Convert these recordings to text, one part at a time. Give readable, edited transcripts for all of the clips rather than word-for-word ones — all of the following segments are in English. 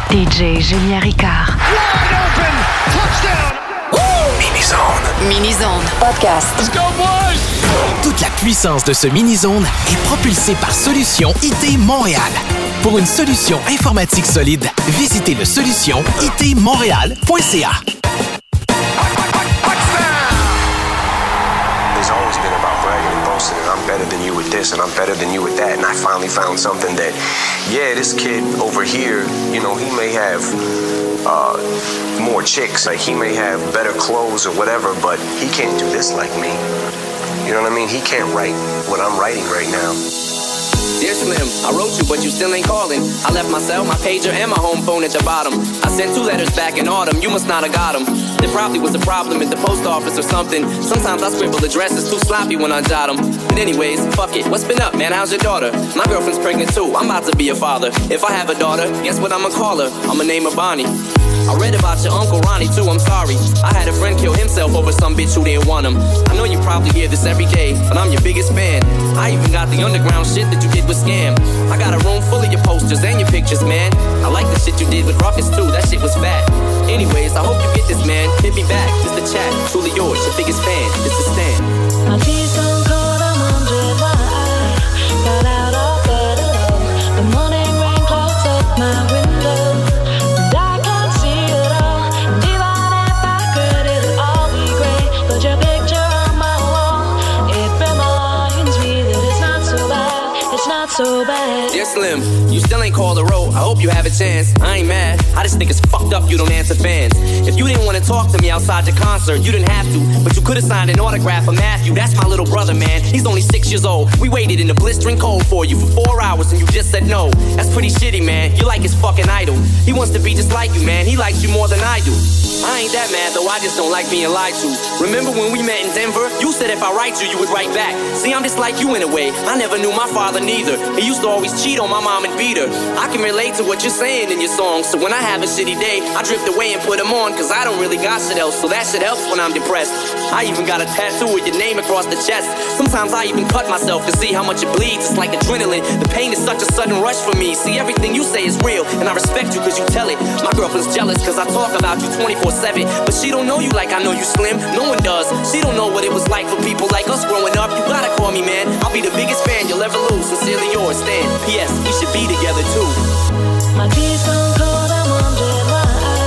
DJ Julien Ricard. Wide open. Touchdown. Mini-Zone. Mini-Zone. Podcast. Let's go, boys! Toute la puissance de ce Mini-Zone est propulsée par Solution IT Montréal. Pour une solution informatique solide, visitez le solutionitmontréal.ca. It's always been about bragging and boasting, and I'm better than you with this, and I'm better than you with that, and I finally found something that, yeah, this kid over here, you know, he may have more chicks, like he may have better clothes or whatever, but he can't do this like me. You know what I mean? He can't write what I'm writing right now. Dear Slim, I wrote you, but you still ain't calling. I left my cell, my pager, and my home phone at your bottom. I sent 2 letters back in autumn, you must not have got them. There probably was a problem at the post office or something. Sometimes I scribble addresses too sloppy when I jot them. But anyways, fuck it, what's been up, man? How's your daughter? My girlfriend's pregnant too, I'm about to be a father. If I have a daughter, guess what I'ma call her? I'ma name her Bonnie. I read about your Uncle Ronnie too, I'm sorry. I had a friend kill himself over some bitch who didn't want him. I know you probably hear this every day, but I'm your biggest fan. I even got the underground shit that you did with Scam. I got a room full of your posters and your pictures, man. I like the shit you did with Ruckus too, that shit was fat. Anyways, I hope you get this, man. Hit me back, just a chat. Truly yours, your biggest fan. It's a Stan. My tea's gone cold, I'm wondering why I got out of bed alone. The morning rain clogs up my window, and I can't see it all. And even if I could, it'll all be great. But your picture on my wall, it reminds me that it's not so bad. It's not so bad. Dear Slim, you still ain't called a row. I hope you have a chance. I ain't mad. I just think it's fucked up you don't answer fans. If you didn't want to talk to me outside your concert, you didn't have to. But you could have signed an autograph for Matthew. That's my little brother, man. He's only 6 years old. We waited in the blistering cold for you for 4 hours and you just said no. That's pretty shitty, man. You're like his fucking idol. He wants to be just like you, man. He likes you more than I do. I ain't that mad, though. I just don't like being lied to. Remember when we met in Denver? You said if I write you, you would write back. See, I'm just like you in a way. I never knew my father neither. He used to always cheat on my mom and beat her. I can relate to what you're saying in your songs. So when I have a shitty day, I drift away and put them on, cause I don't really got shit else. So that shit helps when I'm depressed. I even got a tattoo with your name across the chest. Sometimes I even cut myself to see how much it bleeds. It's like adrenaline. The pain is such a sudden rush for me. See, everything you say is real, and I respect you cause you tell it. My girlfriend's jealous cause I talk about you 24/7. But she don't know you like I know you, Slim. No one does. She don't know what it was like for people like us growing up. You gotta call me, man. I'll be the biggest fan you'll ever lose. Sincerely yours, Stan. P.S. We should be together too. My tea's gone cold, I'm wondering why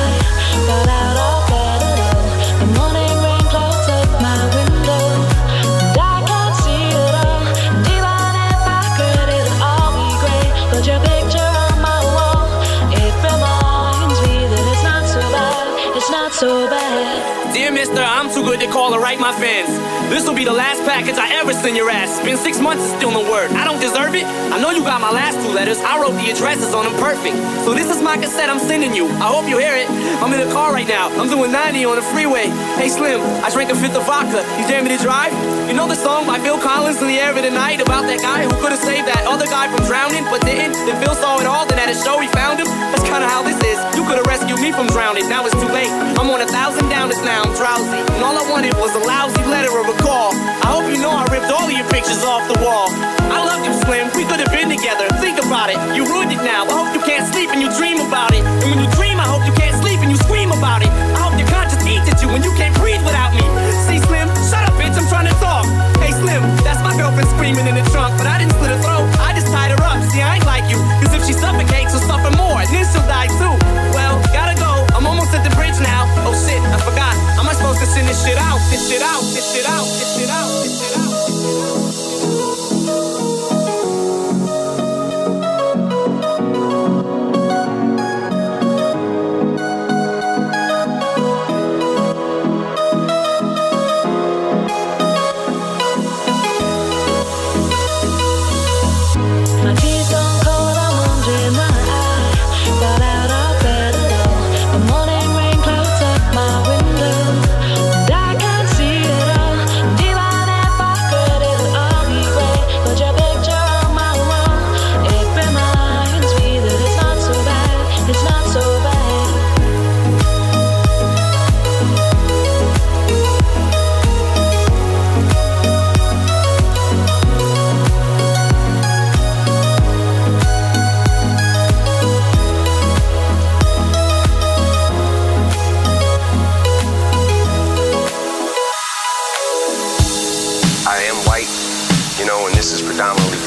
I got out of bed alone. The morning rain clouds up my window, and I can't see it all. And even if I could, it'll all be great. But your picture on my wall, it reminds me that it's not so bad. It's not so bad. Dear mister, I'm too good to call or write my fans. This'll be the last package I ever send your ass. It's been 6 months and still no word. I don't deserve it. I know you got my last 2 letters. I wrote the addresses on them perfect. So this is my cassette I'm sending you. I hope you hear it. I'm in the car right now. I'm doing 90 on the freeway. Hey Slim, I drank a 5th of vodka. You dare me to drive? You know the song by Phil Collins, In the Air of the Night, about that guy who could have saved that other guy from drowning but didn't? Then Phil saw it all, then at a show he found him. That's kinda how this is. You could have rescued me from drowning. Now it's too late. I'm on 1,000 downers now. I'm drowsy. And all I wanted was a lousy letter of a call. I hope you know I ripped all of your pictures off the wall. I love you, Slim. We could have been together. Think about it. You ruined it now. I hope you can't sleep and you dream about it. And when you dream, I hope you can't sleep and you scream about it. I hope your conscience eats at you when you can't breathe without me. See, Slim? Shut up, bitch. I'm trying to talk. Hey, Slim. That's my girlfriend screaming in the trunk. But I didn't slit her throat. I just tied her up. See, I ain't like you. Cause if she suffocates, she'll suffer more. And then she'll die too. Well, gotta go. I'm almost at the bridge now. Oh shit, I forgot. Am I supposed to send this shit out? This shit out. This shit out. This shit out. This shit out.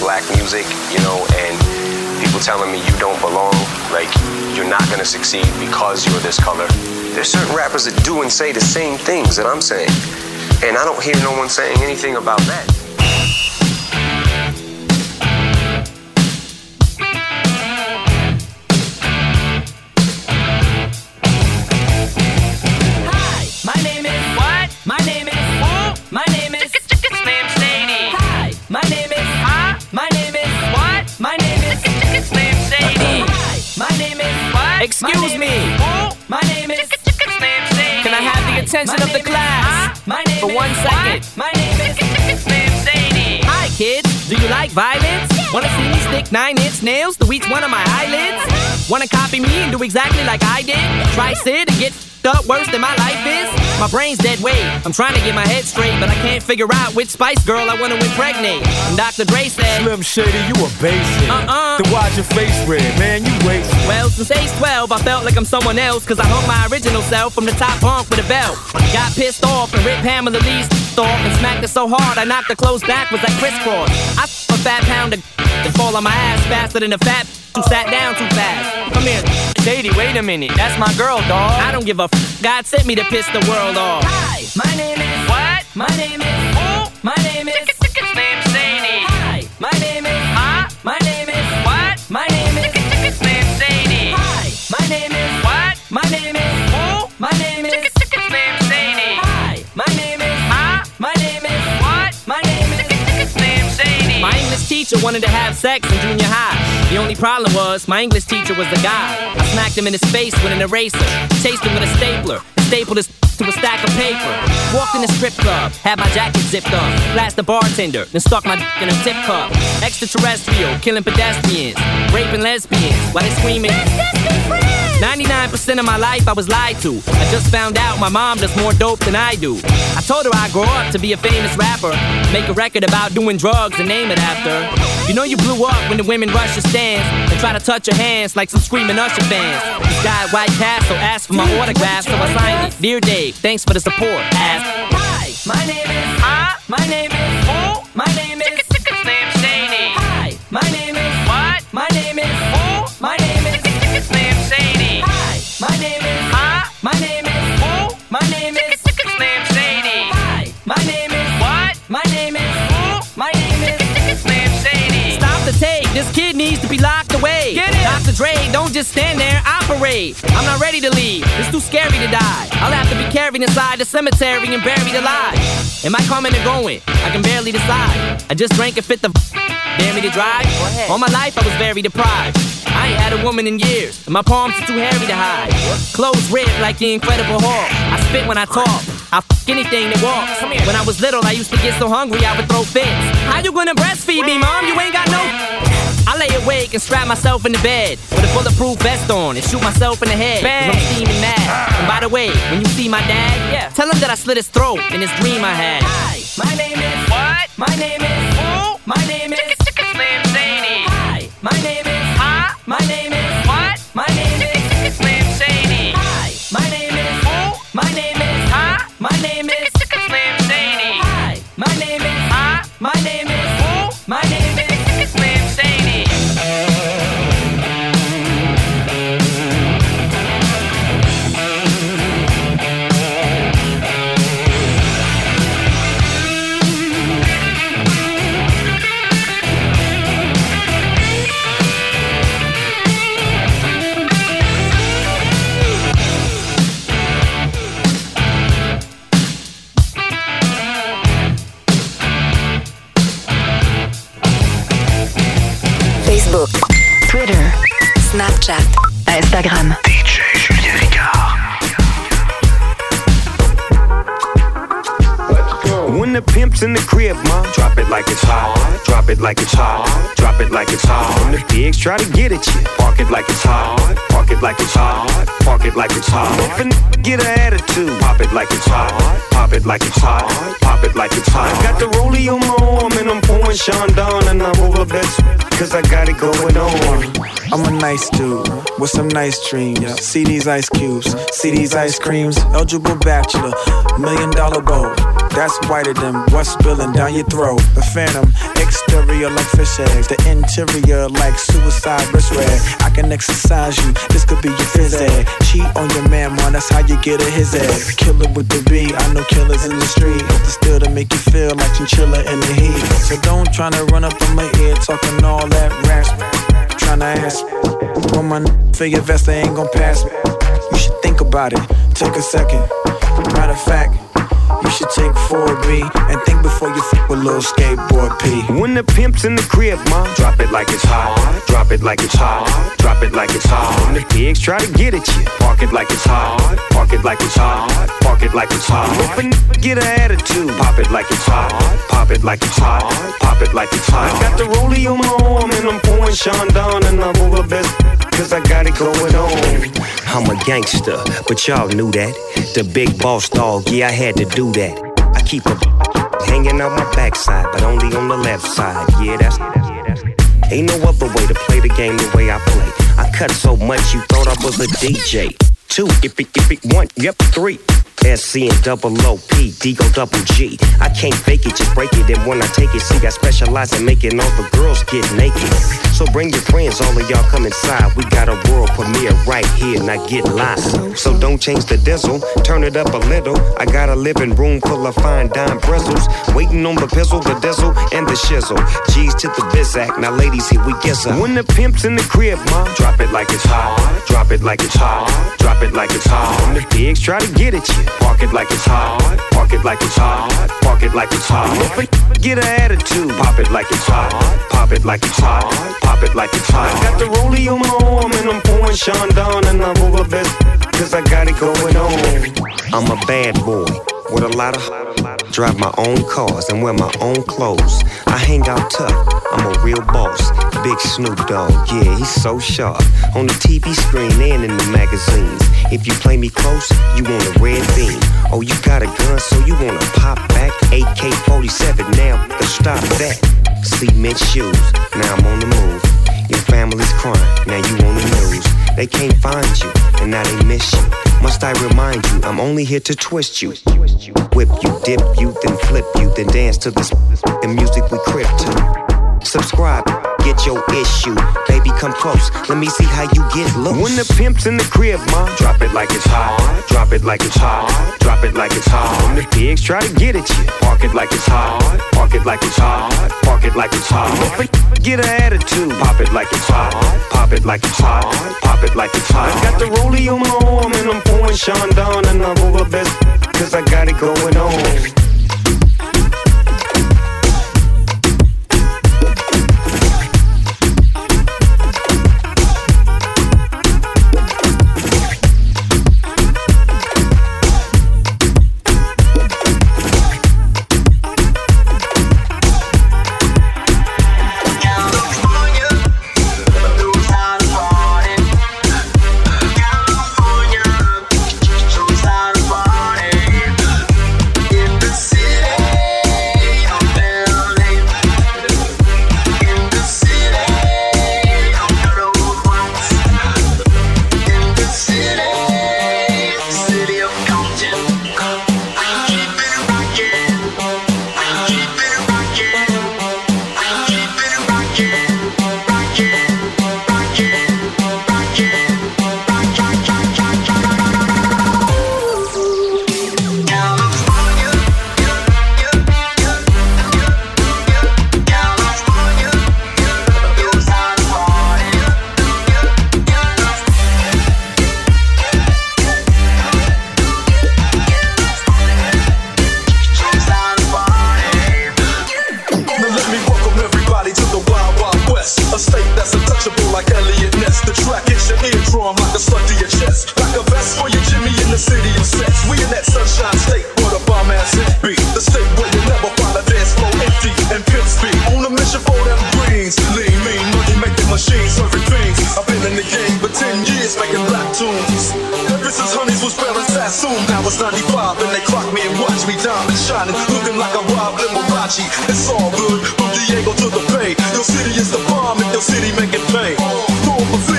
black music, you know, and people telling me you don't belong, like you're not gonna succeed because you're this color. There's certain rappers that do and say the same things that I'm saying, and I don't hear no one saying anything about that. Excuse me. My name is Slim Shady. Can I have the attention of the class for 1 second? My name is Slim Shady. Hi kids, do you like violence? Wanna see me stick 9-inch nails to each one of my eyelids? Wanna copy me and do exactly like I did? Try sit and get up worse than my life is? My brain's dead weight. I'm trying to get my head straight, but I can't figure out which Spice Girl I wanna impregnate. And Dr. Dre said, Slim Shady, you a basic. Then why's your face red, man? You wasted. Well, since age 12, I felt like I'm someone else, cause I hung my original self from the top bunk with a belt. Got pissed off and ripped Pamela Lee's off and smacked it so hard I knocked the clothes backwards like crisscross. I a fat pound of to fall on my ass faster than a fat who sat down too fast. Come here, Shady, wait a minute, that's my girl, dawg. I don't give a God sent me to piss the world off. Hi, my name is what? My name is who? My name is Slim Shady. Hi, my name is my name is what? My name is Slim Shady. Hi, my name is what? My name is who? My name is Slim Shady. Hi, my name is my name is what? My name is Slim Shady. My English teacher wanted to have sex in junior high. The only problem was my English teacher was a guy. I smacked him in his face with an eraser, chased him with a stapler, stapled his to a stack of paper. Walked in the strip club, had my jacket zipped up, blast the bartender, then stuck my in a tip cup. Extraterrestrial, killing pedestrians, raping lesbians while they screaming. 99% of my life I was lied to. I just found out my mom does more dope than I do. I told her I'd grow up to be a famous rapper, make a record about doing drugs and name it after. You know you blew up when the women rush your stands and try to touch your hands like some screaming Usher fans. This guy at White Castle asked for my autograph, so I signed it. Dear Dave, thanks for the support. Asked, hi, my name is my name is who? My name is Slim Shady. Hi, my name is what? My name is who? My name is Slim Shady. Hi, my name is my name is who? My name is Slim Shady. Hi, my name is what? My name is who? My name is Slim Shady. Stop the tape, this kid needs to be locked away. Get it? Dr. Dre, don't just stand there, operate. I'm not ready to leave, it's too scary to die. I'll have to be carried inside the cemetery and buried alive. Am I coming or going? I can barely decide. I just drank and fit the dare me to drive? All my life I was very deprived. I ain't had a woman in years, and my palms are too hairy to hide. Clothes ripped like the Incredible Hulk. I spit when I talk, I f*** anything that walks. When I was little, I used to get so hungry I would throw fits. How you gonna breastfeed me, mom? You ain't got no... I lay awake and strap myself in the bed with a bulletproof vest on and shoot myself in the head, cause I'm steaming mad. And by the way, when you see my dad, tell him that I slit his throat in this dream I had. Hi, my name is what? My name is who? My name is Slim Shady. Hi, my name is my name is what? My name is Slim Shady. Hi, my name is who? My name is my name is Slim Shady. Hi, my name is my name is who? My name is Slim Shady. Facebook, Twitter, Snapchat, Instagram. DJ Julien Ricard. When the pimp's in the crib, ma, drop it like it's hot. Drop it like it's hot. Drop it like it's hot. When the pigs try to get at you, park it like it's hot. Park it like it's hot. Park it like it's hot. If a n***a get an attitude, pop it like it's hot. Pop it like it's hot. Pop it like it's hot. Got the rollie on my arm and I'm pouring Sean Don and I'm over best cause I got it going on. I'm a nice dude with some nice dreams. See these ice cubes, see these ice creams. Eligible bachelor, $1 million bowl. That's whiter than what's spilling down your throat. The phantom, exterior like fish eggs. The interior like suicide wrist rag. I can exercise you, this could be your phys ed. Cheat on your man, man, that's how you get a his egg. Killer with the B, I know killers in the street. But still to make you feel like chinchilla in the heat. So don't tryna run up on my ear talking all that rash. Tryna ask when my for your vest, they ain't gon' pass me. You should think about it, take a second. Matter of fact, you should take 4B and think before you fuck with little skateboard P. When the pimp's in the crib, ma, drop it like it's hot. Drop it like it's hot. Drop it like it's hot. When the pigs try to get at you, park it like it's hot. Park it like it's hot. Park it like it's hot. If a get an attitude, pop it like it's hot. Pop it like it's hot. Pop it like it's hot. I got the rollie on my arm and I'm pouring Sean Don and I'm over best. Cause I got it going on. I'm a gangster, but y'all knew that. The big boss dog, yeah, I had to do that. I keep a hanging out my backside, but only on the left side. Yeah, that's ain't no other way to play the game the way I play. I cut so much you thought I was a DJ. 2, if it, 1, yep, 3. SC and double OP, D go double G. I can't fake it, just break it. And when I take it, see, I specialize in making all the girls get naked. So bring your friends, all of y'all come inside. We got a world premiere right here, now get live. So don't change the diesel, turn it up a little. I got a living room full of fine dime bristles. Waiting on the pistol, the diesel, and the shizzle. G's to the bizac, now ladies, here we get some. When the pimp's in the crib, ma, drop it like it's hot. Drop it like it's hot. Drop it like it's hot. When the pigs try to get at you, park it like it's hot. Park it like it's hot. Park it like it's hot. If a get an attitude, pop it like it's hot. Pop it like it's hot. Pop it like it's hot. I got the rollie on my arm and I'm pouring Sean Don and I'm over best. Cause I got it going on. I'm a bad boy with a lot of drive my own cars and wear my own clothes. I hang out tough, I'm a real boss. Big Snoop Dogg, yeah, he's so sharp. On the TV screen and in the magazines. If you play me close, you want a red beam. Oh, you got a gun, so you wanna pop back? AK-47, now to stop that. Cement shoes, now I'm on the move. Your family's crying, now you on the news. They can't find you, and now they miss you. Must I remind you, I'm only here to twist you. Whip you, dip you, then flip you, then dance to the music we crib to. Subscribe, get your issue. Baby, come close, let me see how you get loose. When the pimp's in the crib, ma, drop it like it's hot. Drop it like it's hot. Drop it like it's hot. When the pigs try to get at you, park it like it's hot. Park it like it's hot. Park it like it's hot. If a get an attitude, pop it like it's hot. Pop it like it's hot. Pop it like it's hot. I got the rollie on my arm and I'm pouring Sean Don and I'm over best. Cause I got it going on. It's all good, from Diego to the Bay. Your city is the bomb, and your city make it pay. Throw up a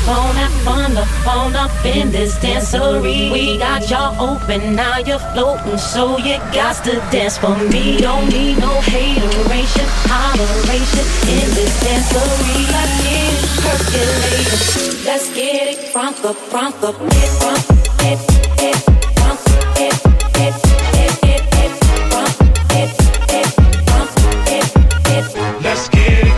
phone, have fun, the phone up in this dancery. We got y'all open, now you're floating, so you got to dance for me. Don't need no hateration, holleration in this dancery. Let's get it percolating, let's get it crunk up, it, crunk it, Let's get it.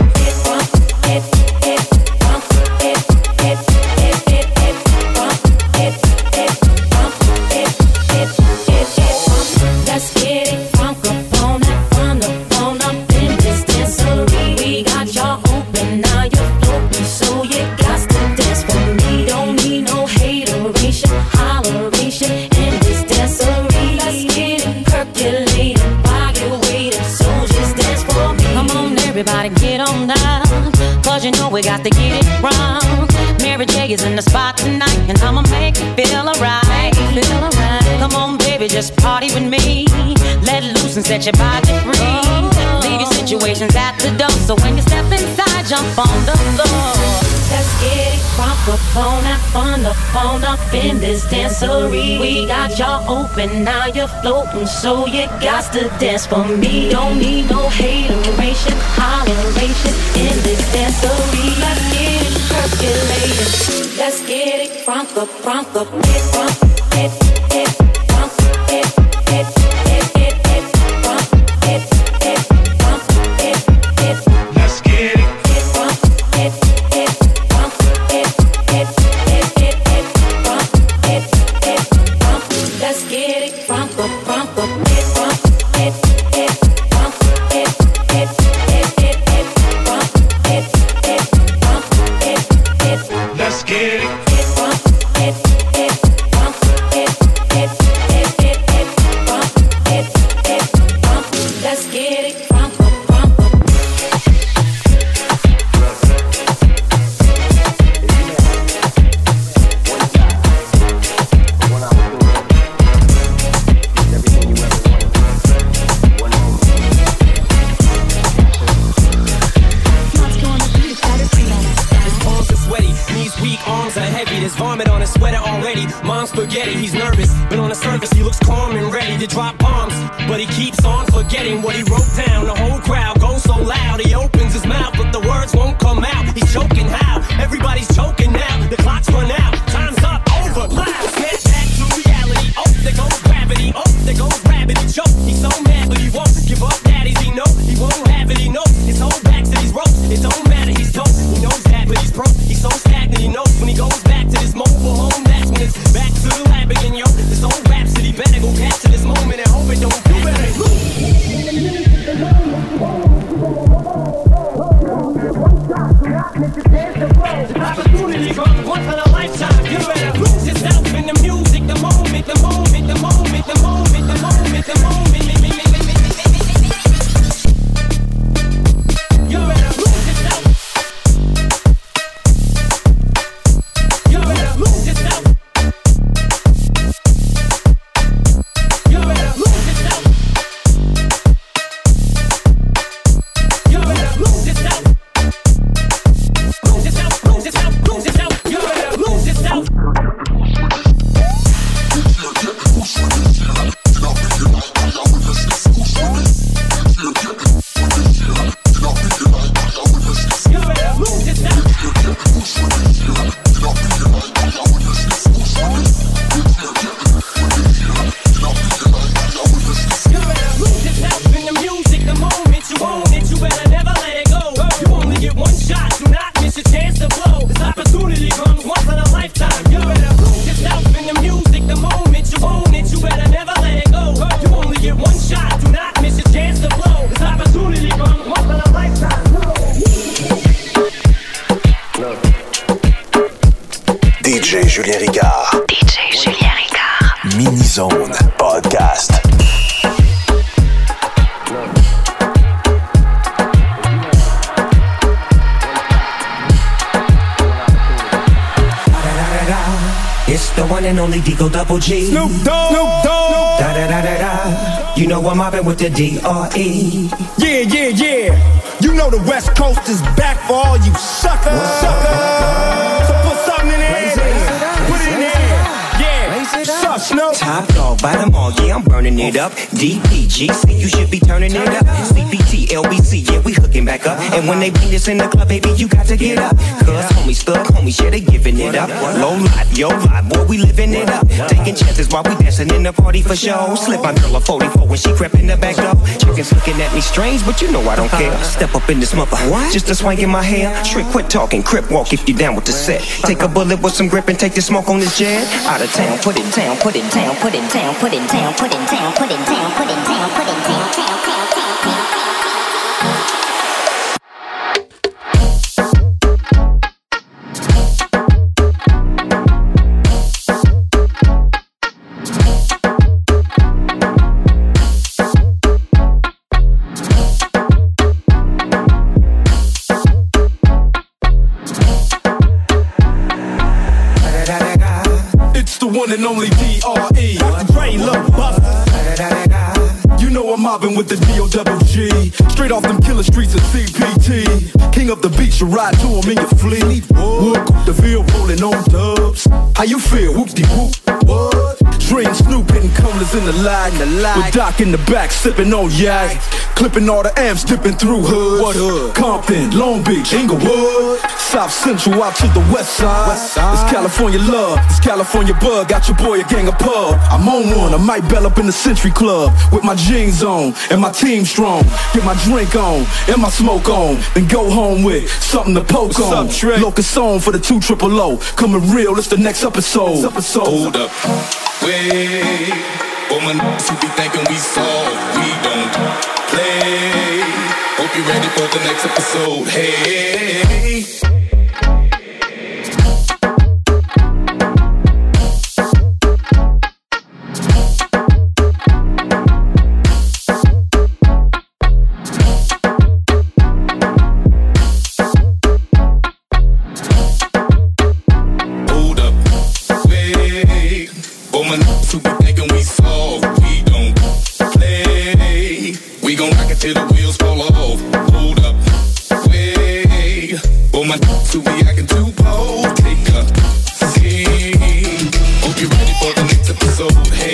Let's get it crunk up on that phone up in this dancery. We got y'all open, now you're floating, so you got to dance for me. Don't need no hateration, holleration in this dancery. Let's get it percolating while you're waiting, so just dance for me. Come on, everybody, get on down, cause you know we got to get it wrong. Mary J is in the spot tonight, and I'ma make you feel alright. Come on, baby, just party with me. Let loose and set your body free. Leave your situations at the door, so when you step inside, jump on the floor. Let's get it crunk up on that fun, the phone up in this dancery. We got y'all open, now you're floating, so you got to dance for me. Don't need no hateration, holleration in this dancery. Let's get it percolating, let's get it crunk up, it, crunk it, crunk it, Let's get it. Let's get it crunk up, it, crunk it, crunk it, Let's get it. Let's get it crunk up. His vomit on his sweater already. Mom's spaghetti, he's nervous, but on the surface he looks calm and ready to drop bombs. But he keeps on forgetting what he wrote down. The whole crowd goes so loud, he opens his mouth, but the words won't come out. He's choking how? Everybody's choking now. The clock's run out, time's up, over. Snap back to reality. Oh, there goes gravity. Oh, there goes gravity. Choke. He's so mad, but he won't give up. Daddies, he know he won't have it. He knows his whole back to these ropes. It don't matter, he's dope. He knows that, but he's broke. He's so stagnant. He knows when he goes back to this mobile home, that's when it's back to the lab again, yo. This old rhapsody better go capture this moment and hope it don't do better. Opportunity comes once in a lifetime. You better lose yourself in the music, the moment, the moment, the moment, the moment, the moment, the moment. You better lose yourself. You better lose yourself. You better lose yourself. You better lose yourself. Lose yourself, lose yourself, lose yourself. You better lose yourself. DJ Julien Ricard. DJ Julien Ricard. Mini-Zone Podcast. It's the one and only Digo Double G. Snoop Dogg. Snoop Dogg. Da da da da da. You know I'm mobbing with the D.R.E. Yeah, yeah, yeah. You know the West Coast is back for all you suckers. So put something by the mall, yeah, I'm burning it up. DPGC, you should be turning it up. CPT, LBC, yeah, we hooking back up. And when they bring this in the club, baby, you got to get up. Cause homies, thug homies, yeah, they giving it up. Low life, yo life, boy, we living it up. Taking chances while we dancing in the party for show. Slip my girl a 44 when she crept in the back door. Chickens looking at me strange, but you know I don't care. Step up in this mother, just a swing in my hair. Trick, quit talking, crip walk if you down with the set. Take a bullet with some grip and take the smoke on this jet. Out of town, put it down, put it down, put it down, put it down, put it down, put it down, put it down, put it down, down. One and only D.R.E. Dre, Lil Buff. You know I'm mobbing with the D.O.G. Straight off them killer streets of CPT. King up the beach, you ride to him in your fleet. Whoop, the field rolling on dubs. How you feel? Whoop-de-whoop. What? Dream Snoop hitting corners in the lag. With Doc in the back, sipping on yak. Clipping all the amps, dipping through hood. What hood? Compton, Long Beach, Inglewood. South Central out to the west side. It's California love, it's California bug. Got your boy a gang of pub. I'm on one, I might bell up in the Century Club. With my jeans on, and my team strong. Get my drink on, and my smoke on. Then go home with something to poke on. Locust on for the 200. Coming real, it's the next episode. Hold up, wait. For my niggas who be thinking we soft, we don't play. Hope you're ready for the next episode. Hey. Till the wheels fall off. Hold up, wait. For my to be acting too bold. Take a seat. Hope you're ready for the next episode. Hey.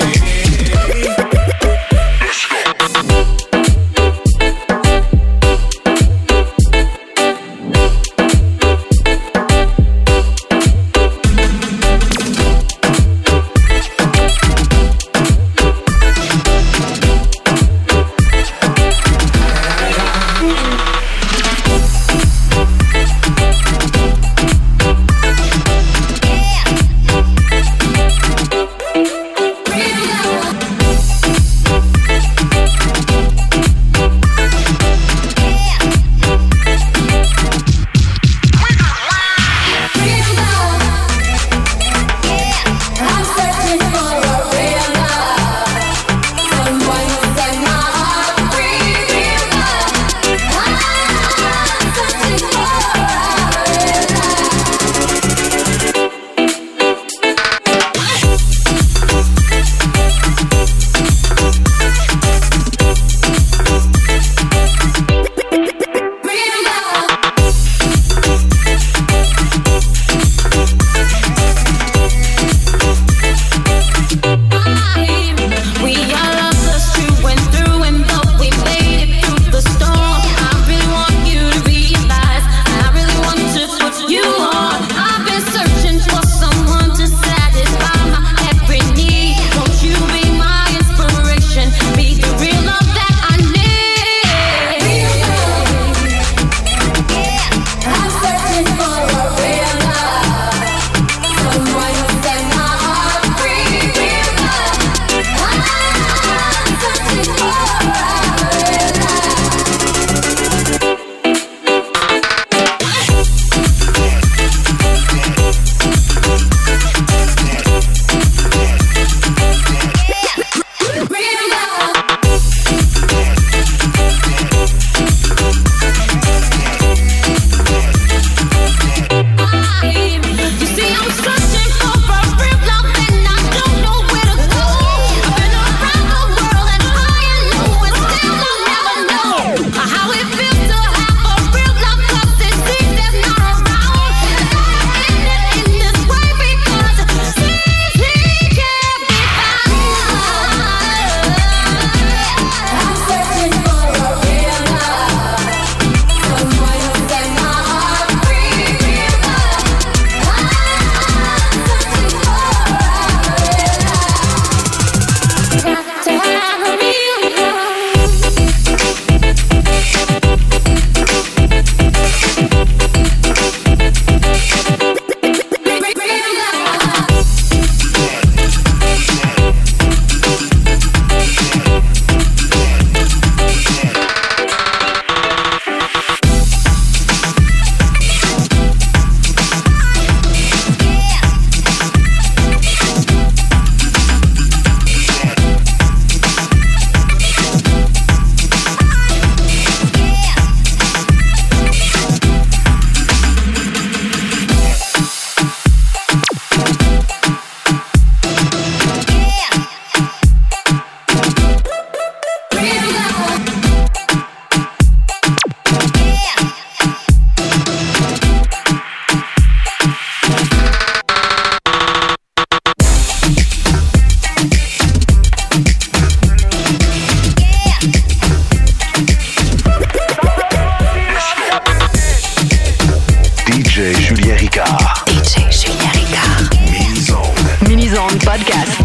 Zone Podcast.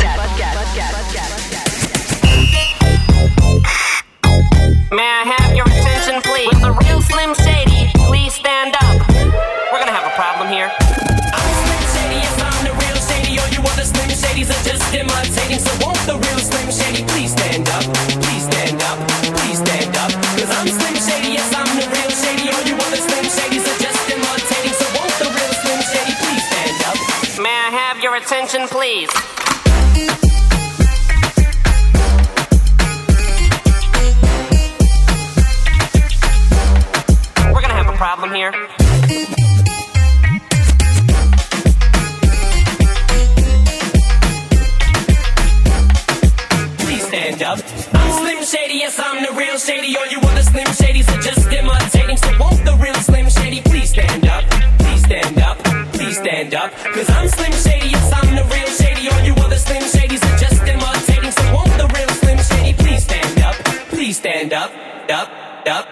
May I have your attention, please? With the real Slim Shady, please stand up. We're gonna have a problem here. I'm Slim Shady, yes, I'm the real Shady. All you other Slim Shadys are just imitating. So won't the real Slim Shady please stand up? Please stand up, please stand up. Cause I'm Slim Shady, yes, I'm the real Shady. All you other Slim Shadys are just imitating. So won't the real Slim Shady please stand up? May I have your attention, please? Problem here. Please stand up. I'm Slim Shady, yes, I'm the real Shady. All you other Slim Shadys are just imitating. So won't the real Slim Shady please stand up? Please stand up, please stand up. Cause I'm Slim Shady, yes, I'm the real Shady. All you other Slim Shadys are just imitating. So won't the real Slim Shady please stand up? Please stand up, up, up.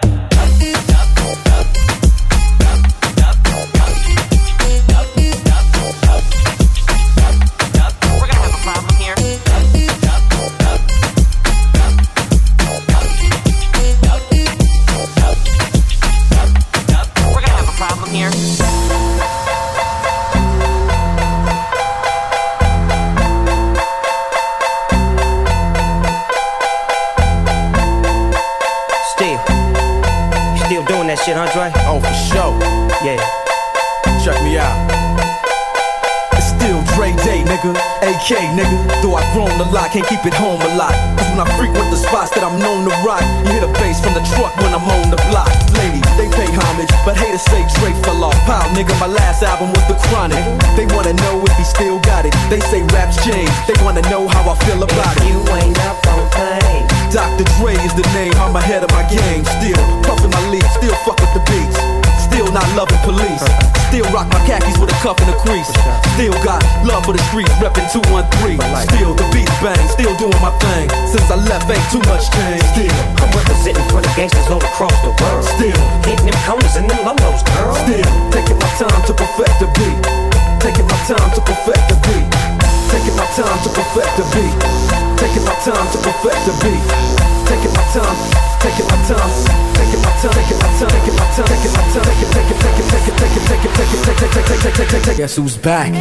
Shit, Andre? Oh, for sure. Yeah. Check me out. It's still Dre Day, nigga. AK, nigga. Though I've grown a lot, can't keep it home a lot. Cause when I frequent the spots that I'm known to rock, you hear the bass from the truck when I'm on the block. Ladies, they pay homage, but haters say Dre fell off. Pow, nigga, my last album was The Chronic. They wanna know if he still got it. They say raps change. They wanna know how I feel about it. You ain't up on pain. Dr. Dre is the name, I'm ahead of my game. Still puffin' my leaf, still fuck with the beats. Still not loving police. Still rock my khakis with a cuff and a crease. Still got love for the streets, reppin' 213. Still the beats bang, still doing my thing. Since I left, ain't too much change. Still I'm representing for the gangsters all across the world. Still hitting them corners and them lolos, girl. Still taking my time to perfect the beat. Taking my time to perfect the beat. Taking my time to perfect the beat. Taking my time to perfect the beat. Taking my time, taking my time, taking my time, taking my time, taking my time, taking my time, take it. Guess who's back?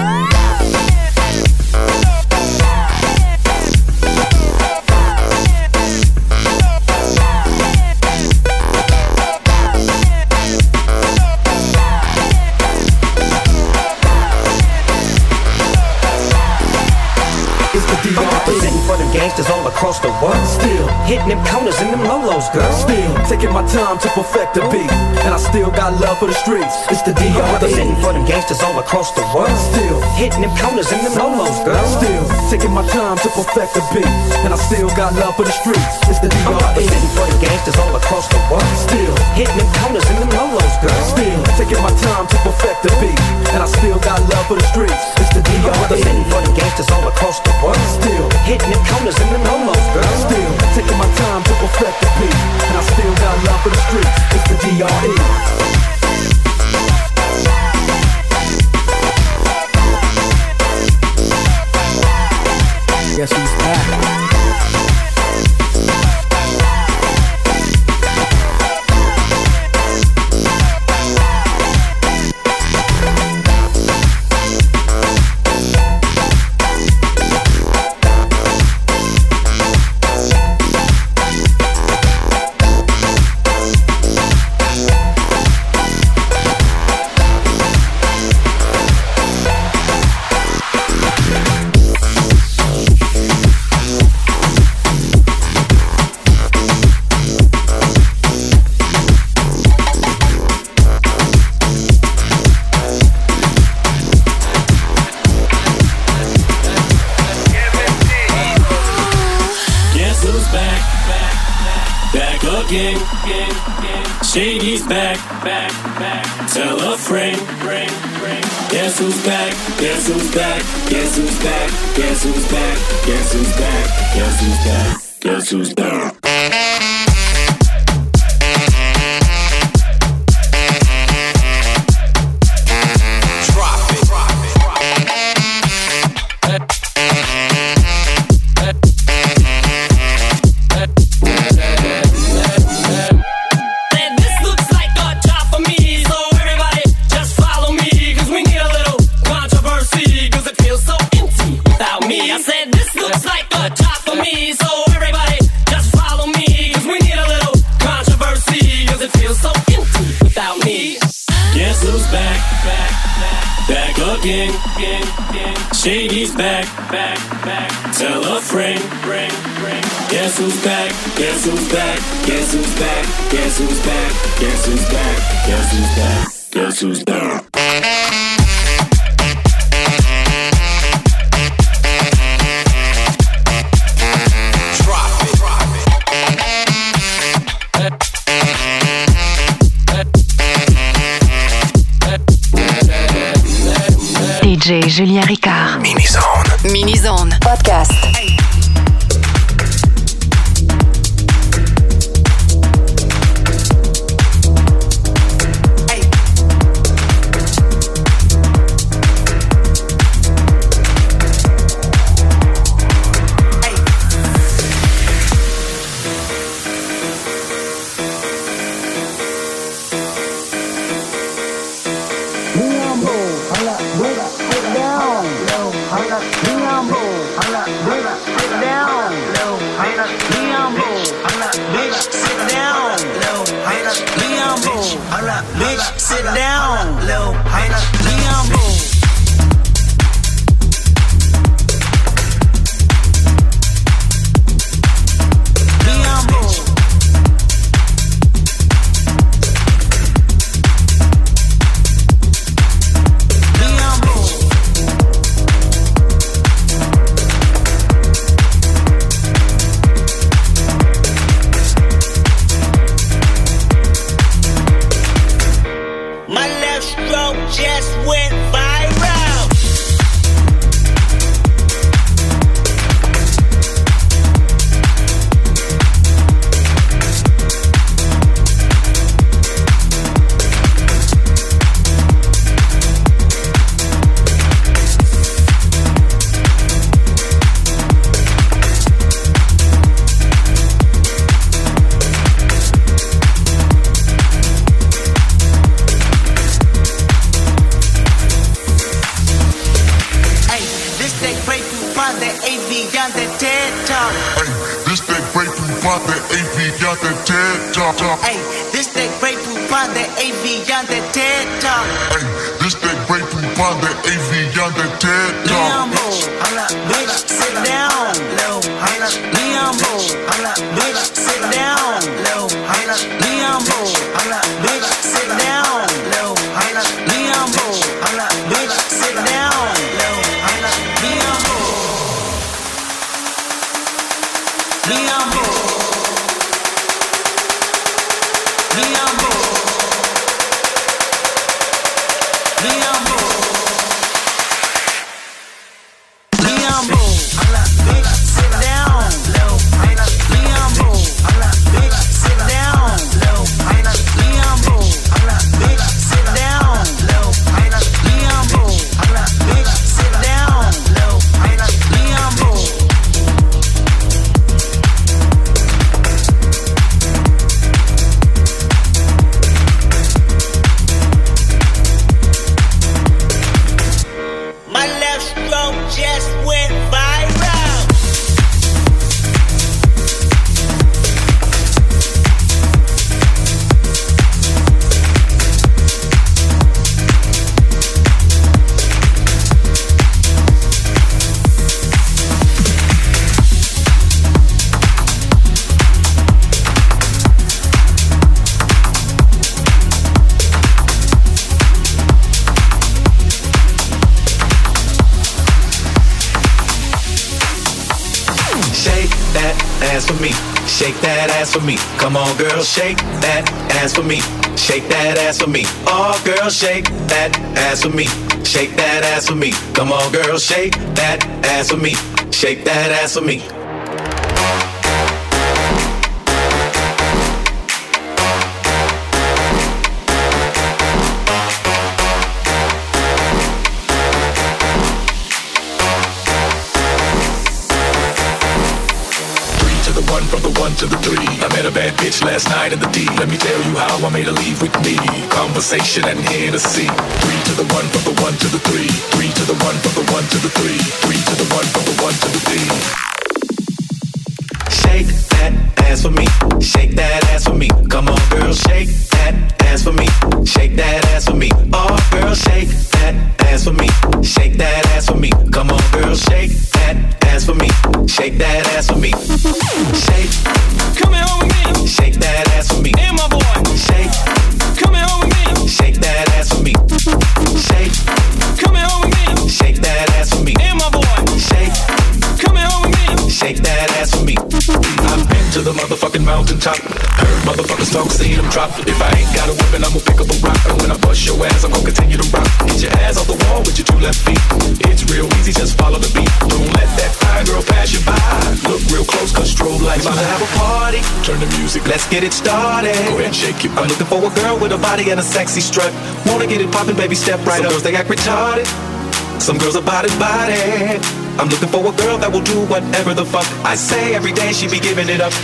Representing for the gangsters all across the world. Still hitting them corners and them lolos, girl. Still taking my time to perfect the beat. And I still got love for the streets. It's the D.R.E. Representing for them gangsters all across the world. Still hitting them corners and them lolos, girl. Still taking my time to perfect the beat. And I still got love for the streets. It's the D.R.E. Representing for the gangsters all across the world. Still hitting them corners and them lolos, girl. Still taking my time to perfect the beat. And I still got love for the streets. It's the D.R.E. Representing for the gangsters all across the world. Still hitting them corners and them lolos, girl. Still taking my time to perfect the beat. And I still got love for the streets. It's the D.R.E. Guess who's back? Shady's back. Tell a friend. Guess who's back? Guess who's back? Guess who's back? Guess who's back? Guess who's back? Guess who's back? Guess who's back? Shady's back. Tell a friend. Guess who's back? Guess who's back? Guess who's back? Guess who's back? Guess who's back? Guess who's back? Guess who's back? DJ Julien Ricard. Mini-Zone. Mini-Zone. Podcast. Sit down, Lil Leon Boo. Leon Boo. Leon Boo. My left stroke just went viral. Hey, this that great poop on the AV on the TED Talk. Hey, this that great poop on the AV on the TED Talk. Leon Boo, bitch, sit down. Leon Boo, bitch, sit down. Leon Boo, bitch, sit down. Leon Boo, bitch, sit down. Leon Boo, Leon Boo. Leon Boo. Leon Boo. Leon Boo. Bitch, sit down. Leon Boo. Bitch, sit down. Leon Boo. Bitch, sit down. Leon Boo. Bitch, sit down. Leon Boo. My left stroke just went viral. Shake that ass for me. Shake that ass for me. Come on, girl, shake that ass for me. Shake that ass for me. Oh, girl, shake that ass for me. Shake that ass for me. Come on, girl, shake that ass for me. Shake that ass for me. From the 1 to the 3, I met a bad bitch last night in the D. Let me tell you how I made her leave with me. Conversation and Hennessy. 3 to the 1, from the 1 to the 3. 3 to the 1, from the 1 to the 3. 3 to the 1, from the 1 to the 3. Shake that ass for me. Shake that ass for me. Come on, girl, shake that ass for me. Shake that ass for me. Oh, girl, shake that ass for me. Shake that top. Heard motherfuckers talk, seen them drop. If I ain't got a weapon, I'ma pick up a rock. And when I bust your ass, I'm gonna continue to rock. Get your ass off the wall with your two left feet. It's real easy, just follow the beat. Don't let that fine girl pass you by. Look real close, cause strobe lights about to have a party. Turn the music, let's get it started. Go ahead and shake your butt. I'm looking for a girl with a body and a sexy strut. Wanna get it poppin', baby, step right up. Some girls, they act retarded. Some girls are body. I'm looking for a girl that will do whatever the fuck I say. Every day she be giving it up.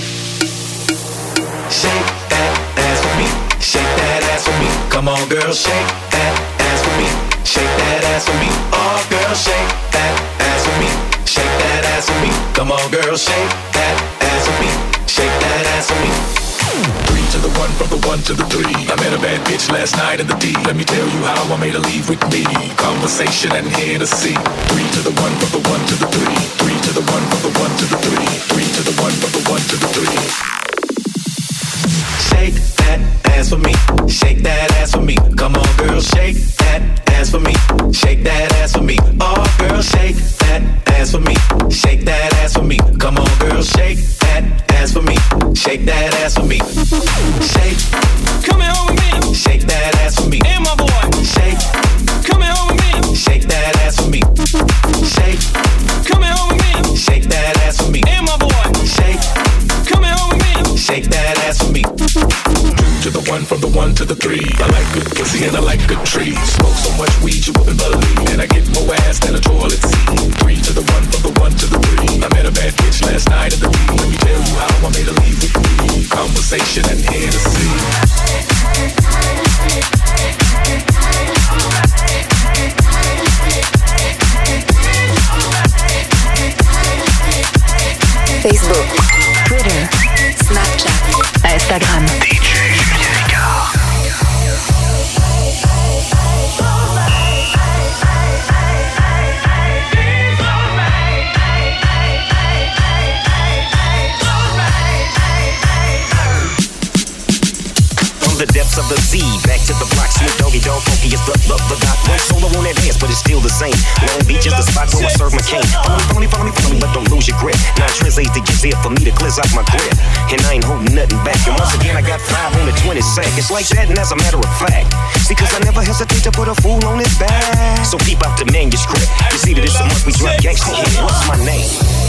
Shake that ass for me. Shake that ass for me. Come on, girl, shake that ass for me. Shake that ass for me. Oh, girl, shake that ass for me. Shake that ass for me. Come on, girl, shake that ass for me. Shake that ass for me. 3 to the 1, from the 1 to the 3. I met a bad bitch last night in the D. Let me tell you how I made her leave with me. Conversation and Hennessy. 3 to the 1, from the 1 to the 3. 3 to the 1, from the 1 to the 3. 3 to the 1, from the 1 to the 3. Shake that ass for me. Shake that ass for me. Come on, girl, shake that ass for me. Shake that ass for me. Oh, girl, shake that ass for me. Shake that ass for me. Come on, girl, shake that ass for me. Shake that ass for me. Shake. Come here home with me. Shake that ass for me. And my boy. Shake. Come here home with me. Shake that ass for me. Shake. Come here home with me. Shake that ass for me. And my boy. Shake. Come here home with me. Shake that ass for me. 2 to the 1, from the 1 to the 3. I like good pussy and I like good trees. Smoke so much weed you wouldn't believe. And I get more ass than a toilet seat. 3 to the 1, from the 1 to the 3. I met a bad bitch last night in the D. Let me tell you how I made her leave with me. Conversation and Hennessy. Facebook, Twitter, Snapchat, Instagram. DJ Julien Ricard. The depths of the sea, back to the block. Snoop Doggy Dogg, funky as the dot. One solo on that dance, but it's still the same. Long Beach is the spot where I serve my cane. Follow me, but don't lose your grip. 9 translates to get there for me to cleanse out my grip. And I ain't holding nothing back. And once again, I got 5 on the 20 sack. It's like that, and as a matter of fact, see, cause I never hesitate to put a fool on his back. So peep out the manuscript. You see that it's a month we drop gangsta hit. What's my name?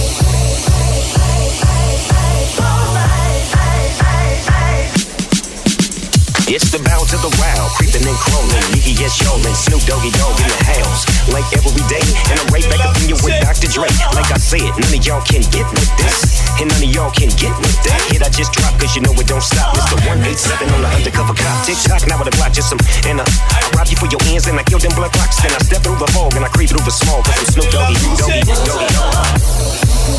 It's the bow to the wild, creeping and crawling. Yiggy, yes, y'all, and Snoop Doggy Dogg in the house. Like every day, and I'm right back up in you with Dr. Dre. Like I said, none of y'all can get with this. And none of y'all can get with that. Hit I just dropped, cause you know it don't stop. Mr. 187 on the undercover cop. Tick-tock, now with a block, just some. And I rob you for your ends, and I kill them blood clocks. Then I step through the fog, and I creep through the small. Cause I'm Snoop Doggy, Doggy, Doggy, Doggy.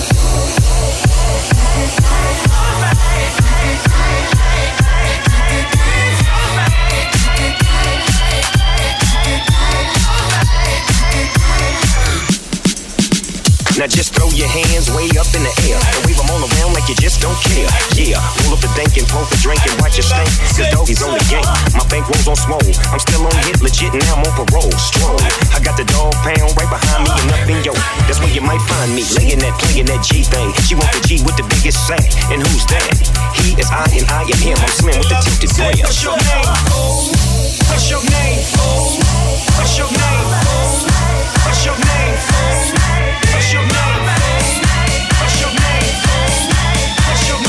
Now just throw your hands way up in the air and wave them all around like you just don't care. Yeah, roll up the dank and pour the drink and watch it stink. Cause Doggy's on the game. My bankrolls on swole. I'm still on hit, legit, and now I'm on parole. Stroll. I got the dog pound right behind me and up in yo. That's where you might find me. Laying that, playing that G thing. She want the G with the biggest sack. And who's that? He is I and I am him. I'm slim with the tilted brain. What's your name? What's your name? What's your name? What's your name? What's your name? What's your name? What's your name? What's your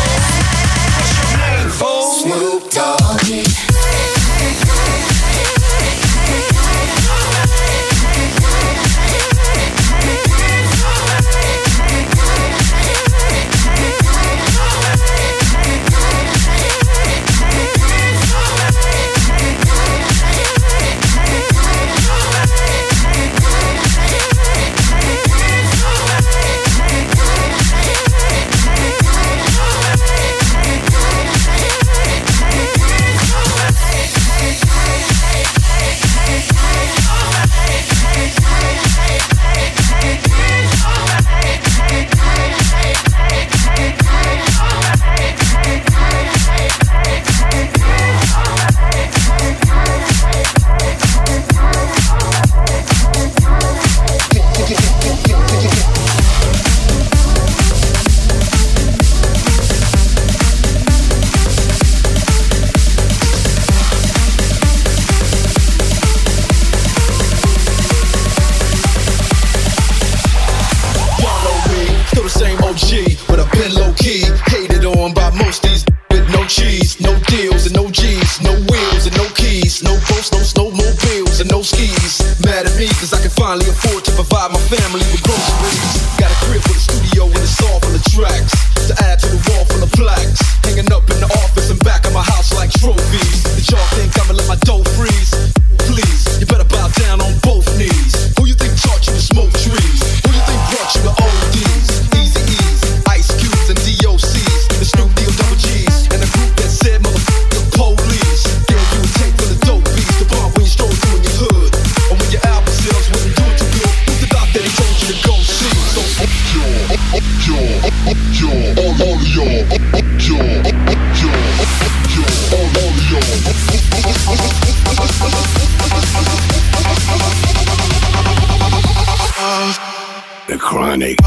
name? Snoop Doggy. provide my family with groceries. Got a crib with a studio and it's all full of tracks. To add to the wall full of plaques. Hanging up in the office and back of my house like trophies. Did y'all think I'ma let my dough freeze? Please, you better bow down on both knees. Who you think taught you to smoke trees? Who you think brought you to ODs? Easy E's, Ice Cubes and DOCs. The Snoop Deal Double G's. And the group that said motherfucker police. Yeah, you would take for the dope beats. The bomb when you stroll through in your hood. Or when your album sales wasn't doing too good. Who's the doc that they told you to go see? So all of y'all, The Chronic.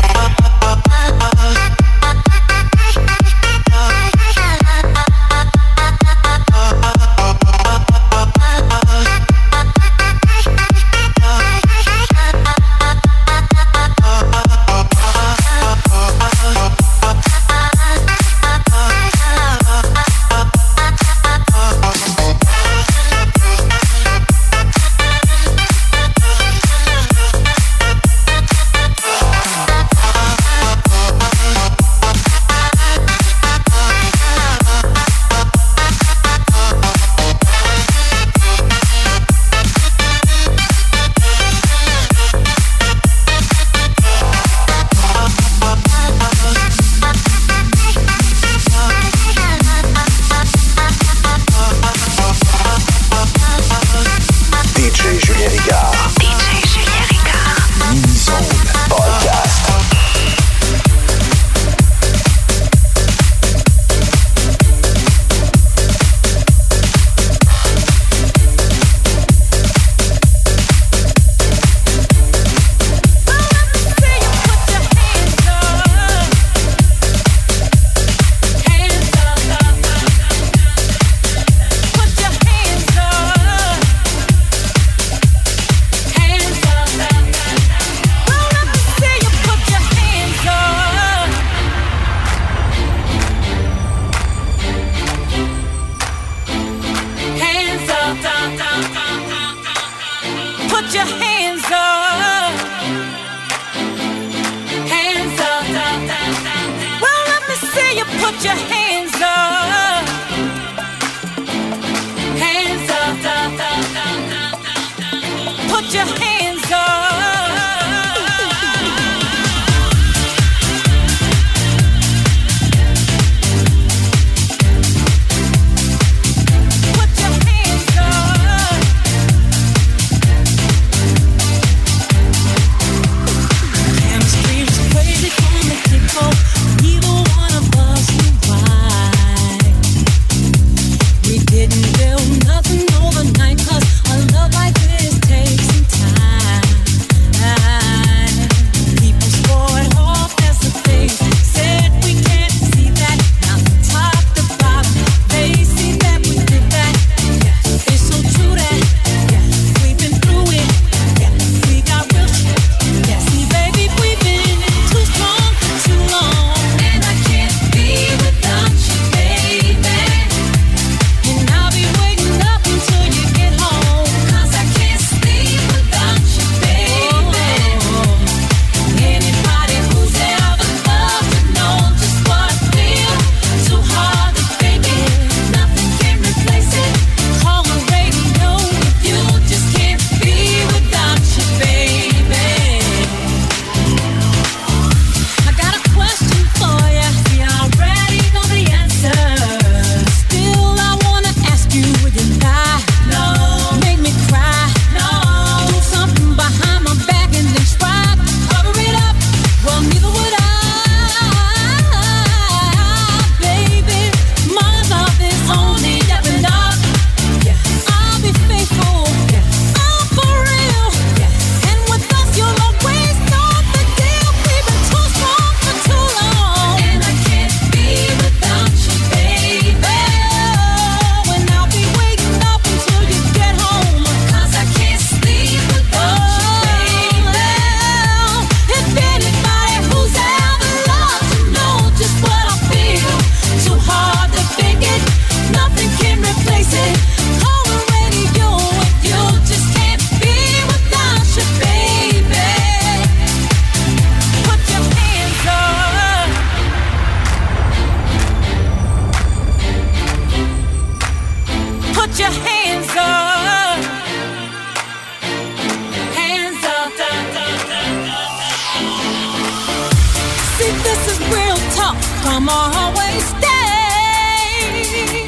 I'm always stay.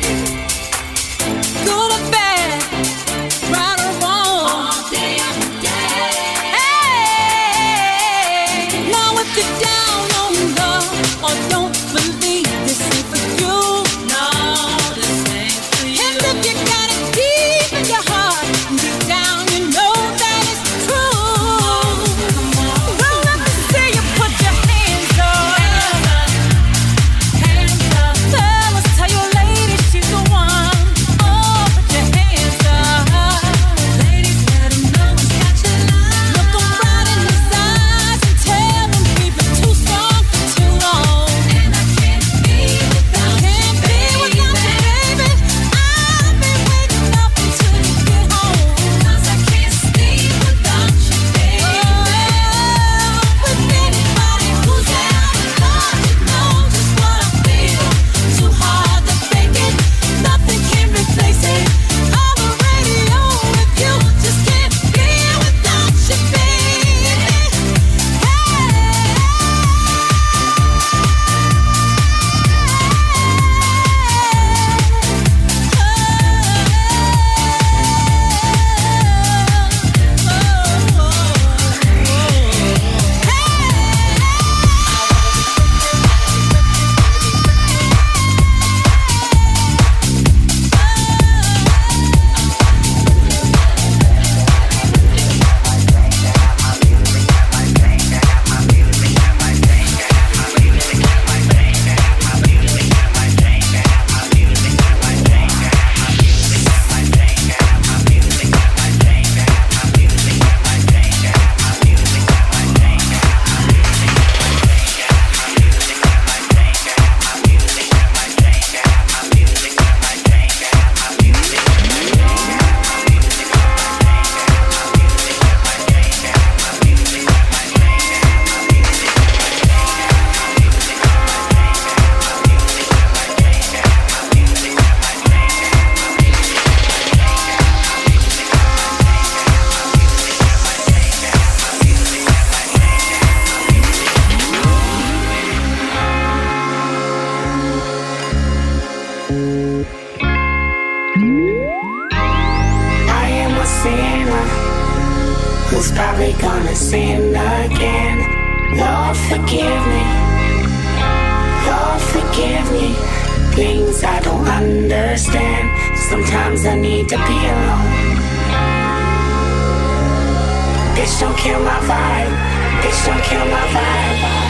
Good or bad, right or wrong, all day every day. Hey, now if you're down on love or don't believe this ain't for you, no, this ain't for you. And if you got it deep in your heart, deep down you know that it's true. Well, let me see you put your hands up. Hands up. Fellas, tell your lady she's the one. Oh, put your hands up. Ladies, let them know it's got your love. Look them right in his eyes and tell them we've been too strong for too long. And I can't be without you, baby. I've been waiting up until you get home. 'Cause I can't sleep without you, baby. With anybody who's out in love, you know just what I feel. Too hard to fake it, nothing can replace it. On the radio with you, just can't be without you, baby. I am a sinner who's probably gonna sin again. Lord, forgive me. Lord, forgive me. Things I don't understand. Sometimes I need to be alone. Bitch, don't kill my vibe. Bitch, don't kill my vibe.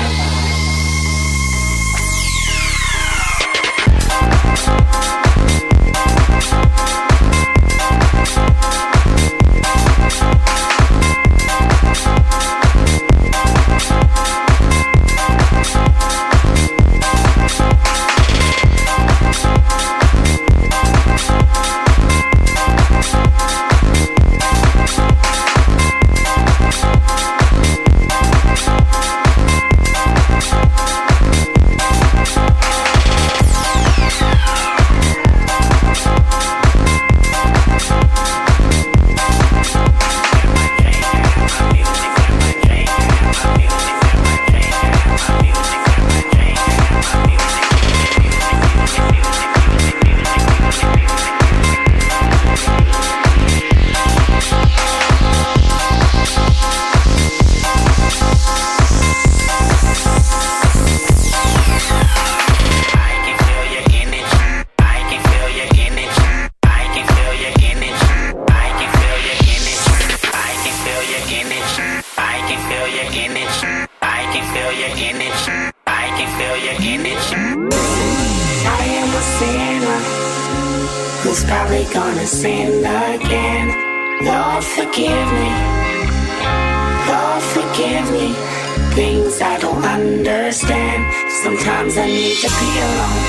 Who's probably gonna sin again. Lord, forgive me. Lord, forgive me. Things I don't understand. Sometimes I need to be alone.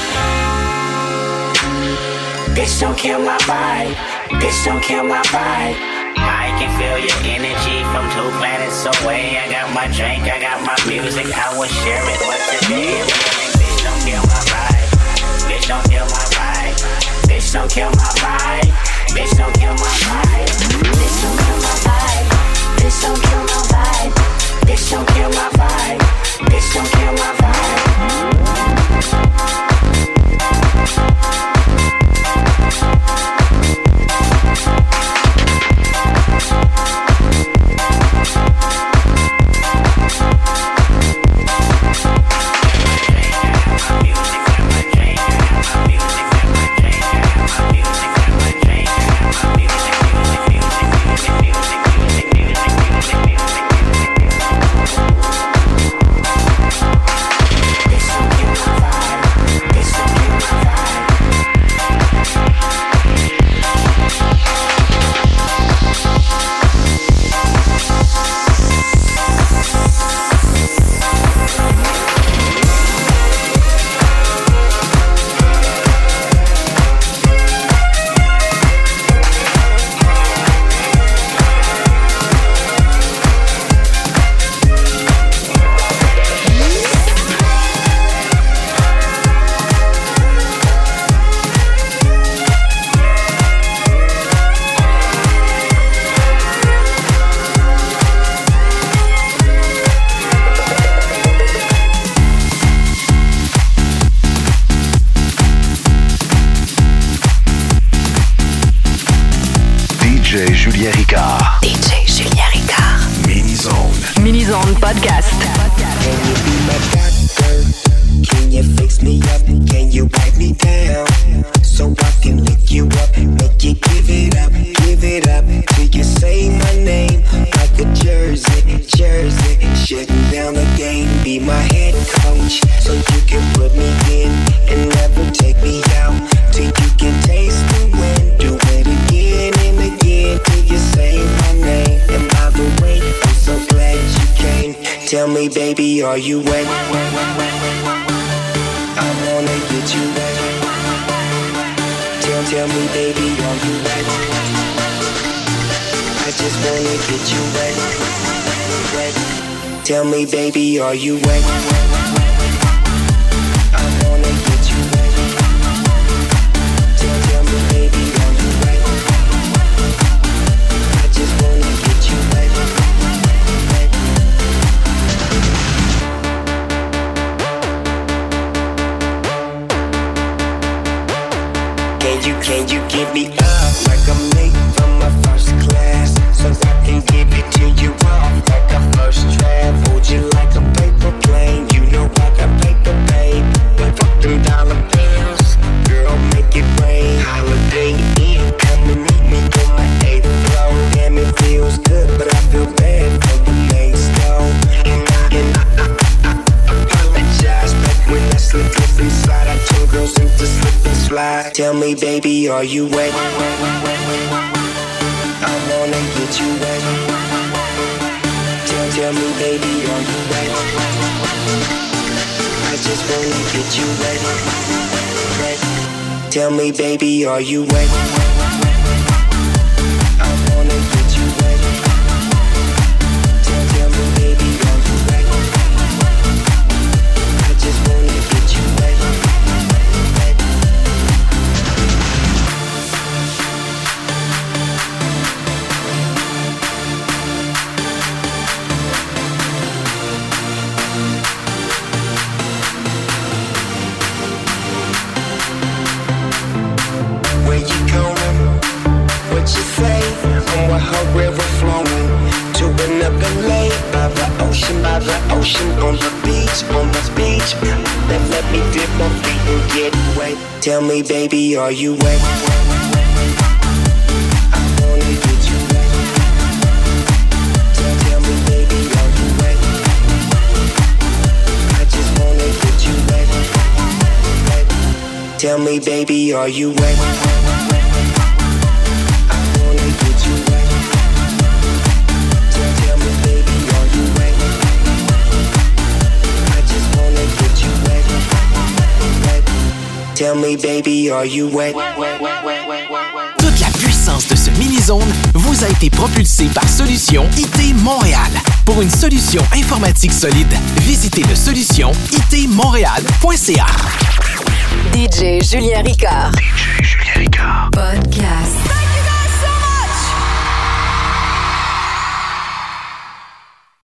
Bitch, don't kill my vibe. Bitch, don't kill my vibe. I can feel your energy from 2 planets away. I got my drink, I got my music, I will share it, but today bitch, don't kill my vibe. Bitch, don't kill my vibe. Bitch, don't kill my vibe. Bitch, don't kill my vibe. Bitch, don't kill my vibe. Bitch, don't kill my vibe. Bitch, don't kill my vibe. Bitch, don't kill my vibe. Mini-Zone Podcast. Can you be my doctor? Can you fix me up? Can you wipe me down? So I can lick you up, make you give it up till you say my name like a jersey, shutting down the game. Be my head coach, so you can put me in and never take me out till you can taste the wind. Do it again and again till you say my name. And by the way, I'm so glad you came. Tell me, baby, are you wet? I wanna get you wet. Tell me, baby, are you wet? I just wanna get you wet, wet. Tell me, baby, are you wet? I wanna get you wet. Tell me, baby, are you wet? I just wanna get you wet, wet. Can you give me up like I'm late from my first class? So I can give it to you off like a first draft. Hold you like a paper plane. You know I got paper, babe. But fuck them dollar bills. Girl, make it rain. Holiday Inn, come and meet me on my 8th floor. Damn, it feels good, but I feel bad for the next though. And I apologize, but when I slip inside, I turn girls into slip and slide. Tell me, baby, are you wet? I wanna get you wet. Tell me, baby, are you wet? I just wanna get you wet, wet. Tell me, baby, are you wet? I wanna get you wet. Tell me, baby, are you wet? I just wanna get you wet, wet. Where you going? What you say? I'm with her river flowing to another lake by the ocean, on the beach, Then let me dip my feet and get wet. Tell me, baby, are you wet? I wanna get you wet. Tell me, baby, are you wet? I just wanna get you wet, wet. Tell me, baby, are you wet? I wanna get you wet. Tell me, baby, are you wet? I just wanna get you wet, wet. Tell me, baby, are you wet? Toute la puissance de ce mini-zone vous a été propulsée par Solution IT Montréal. Pour une solution informatique solide, visitez le solutionitmontréal.ca. DJ Julien Ricard. Podcast.